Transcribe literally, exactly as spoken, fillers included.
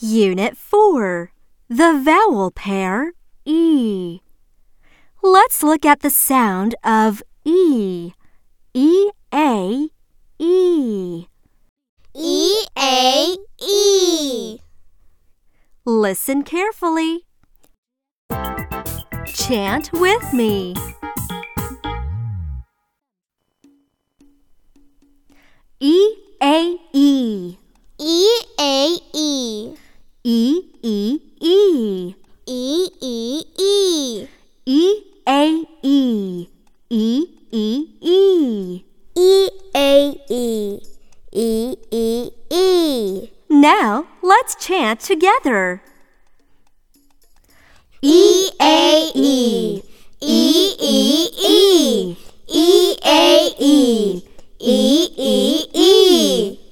Unit four, the vowel pair E. Let's look at the sound of E. E, A, E. E, A, E. Listen carefully. Chant with me. E, A, E. E, A, E. E, E, E. E, E, E. E, A, E. E, E, E. E, A, E. E, E, E. Now, let's chant together. E, A, E. E, E, E. E, A, E. E, E, E.